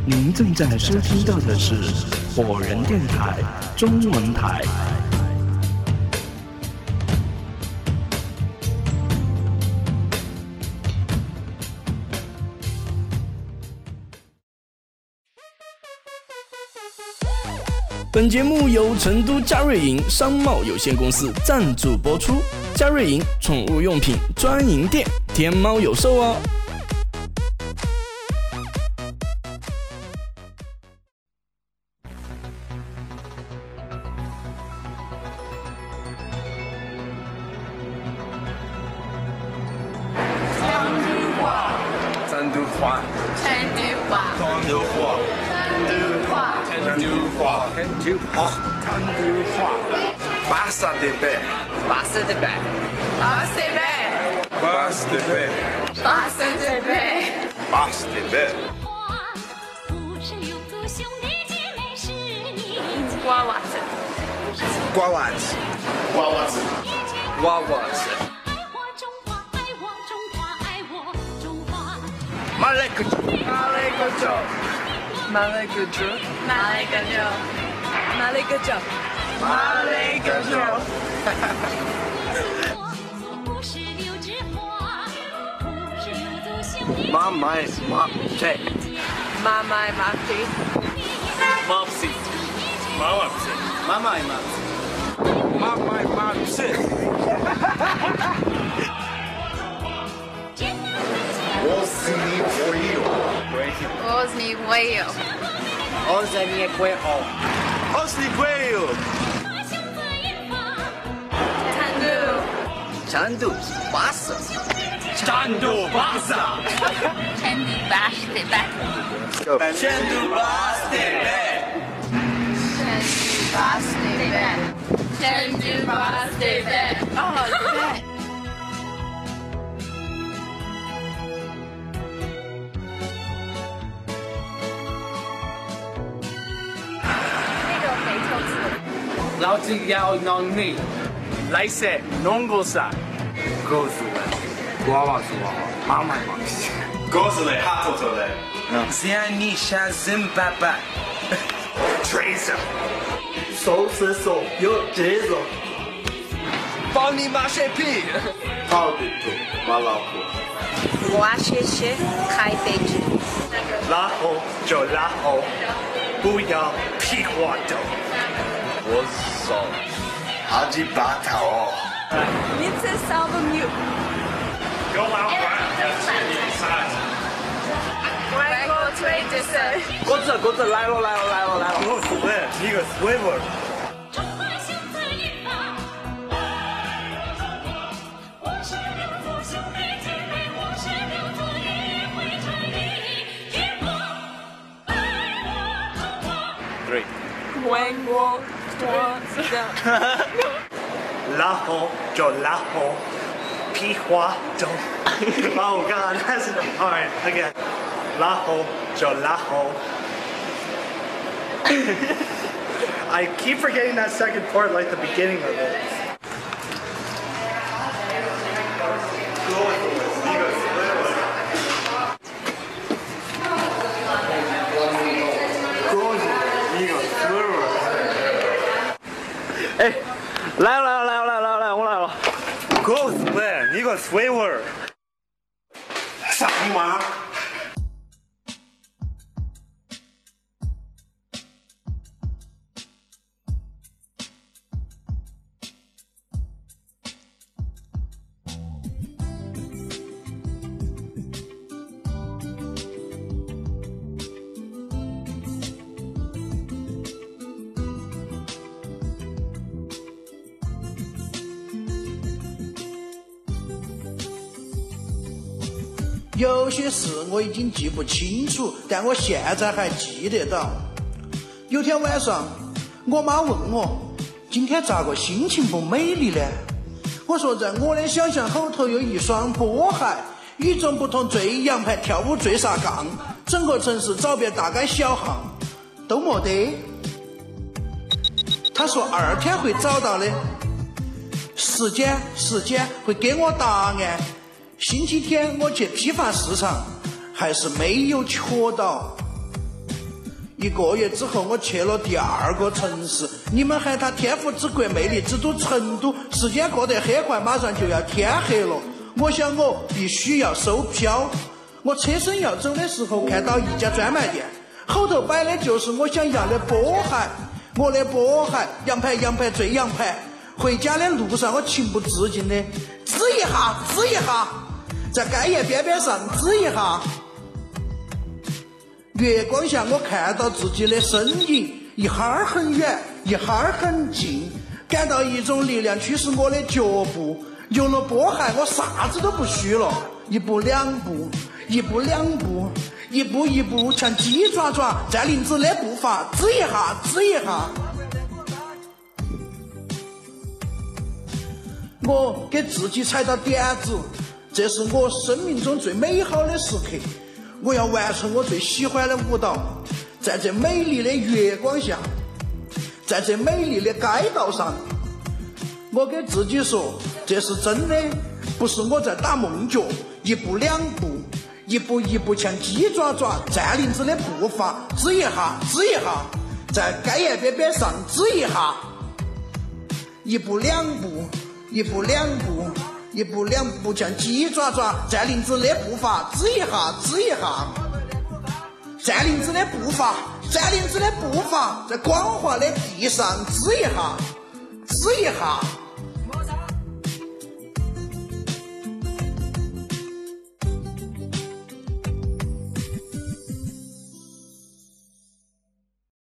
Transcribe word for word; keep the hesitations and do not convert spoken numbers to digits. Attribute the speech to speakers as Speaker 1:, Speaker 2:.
Speaker 1: 您正在收听到的是火人电台中文台。本节目由成都嘉瑞营商贸有限公司赞助播出。嘉瑞营宠物用品专营店，天猫有售哦。
Speaker 2: 成都话，
Speaker 3: 成都话，
Speaker 2: 成都话，成都话，成都话，成都话，巴萨的贝，
Speaker 3: 巴适的贝，巴适的贝，
Speaker 2: 巴萨的贝，
Speaker 3: 巴适的贝，
Speaker 2: 巴萨的贝。
Speaker 3: 瓜娃子，
Speaker 2: 瓜娃子，瓜娃子，瓜娃子。马来个州，马来个州，马来个州，
Speaker 3: 马来个州，马来个州，
Speaker 2: 马来个州。哈哈哈。妈妈马对，
Speaker 3: 妈妈马屁，
Speaker 2: 马屁，妈妈屁，妈妈马屁，妈妈马屁。Ozny Voyo.
Speaker 3: Ozny Voyo.
Speaker 2: Ozny Voyo. Ozny Voyo.
Speaker 3: Chandu.
Speaker 2: Chandu Basa. Chandu Basa.
Speaker 3: Chandu Bash the Back.
Speaker 2: Chandu Basa.
Speaker 3: Chandu Bash the Back. Chandu Bash the Back. Oh, the back.
Speaker 2: 老子要弄你，来噻，弄个啥？告诉我，娃娃是娃娃，妈妈妈。
Speaker 4: 告诉你，哈头头的。
Speaker 2: 现在你想怎爸爸？
Speaker 4: 锤子，
Speaker 5: 手是手，有节奏。
Speaker 2: 帮你妈血皮。
Speaker 4: 好的头，马老虎。
Speaker 3: 我谢谢开飞机。
Speaker 5: 然后就然后，不要屁话的。
Speaker 4: 我操，阿基巴塔哦！
Speaker 3: 你这少个牛。
Speaker 5: 给我玩玩，
Speaker 3: 外国吹的是。
Speaker 2: 鸽子鸽子来了来了来了来了！
Speaker 5: 我是喂，你个 swivel。
Speaker 2: Three。
Speaker 3: 外国多的。
Speaker 5: 然后就然后，屁话就。Oh God, that's all right. Again. 然后就然后。I keep forgetting that second part, like the beginning of it.
Speaker 2: Hey, 来了来了来了来了，我来了。
Speaker 5: Go split, 你个 swiver。
Speaker 4: 傻逼妈！
Speaker 6: 有些事我已经记不清楚，但我现在还记得到。有天晚上，我妈问我今天咋个心情不美丽呢？我说在我的想象后头有一双波鞋，与众不同坠羊排跳舞坠啥杠，整个城市找遍大街小巷都没得。她说二天会找到的，时间时间会给我答案。星期天我去批发市场，还是没有瞧到。 一个月之后，我去了第二个城市，你们喊它天府之国、魅力之都成都，时间过得很快，马上就要天黑了。我想我必须要收票。我车身要走的时候，看到一家专卖店，后头摆的就是我想要的波鞋。我的波鞋，洋牌洋牌最洋牌。回家的路上，我情不自禁的指一下，指一下，在街沿边边上指一下。月光下，我看到自己的身影，一哈儿很远，一哈儿很近，感到一种力量驱使我的脚步。有了波鞋，我啥子都不需了。一步两步，一步两步，一步一步，像鸡爪爪占领子的步伐，指一下，指一下。我给自己踩到点子，这是我生命中最美好的时刻。我要完成我最喜欢的舞蹈，在这美丽的月光下，在这美丽的街道上，我给自己说，这是真的，不是我在打梦脚。一步两步，一步一步像鸡爪爪占领子的步伐，指一下，指一下，在街沿边边上指一下。一步两步，一步两步，一步两步像鸡爪爪占领子的步伐，指一下，指一下。占领子的步伐，占领子的步伐，在光滑的地上指一下，指一下。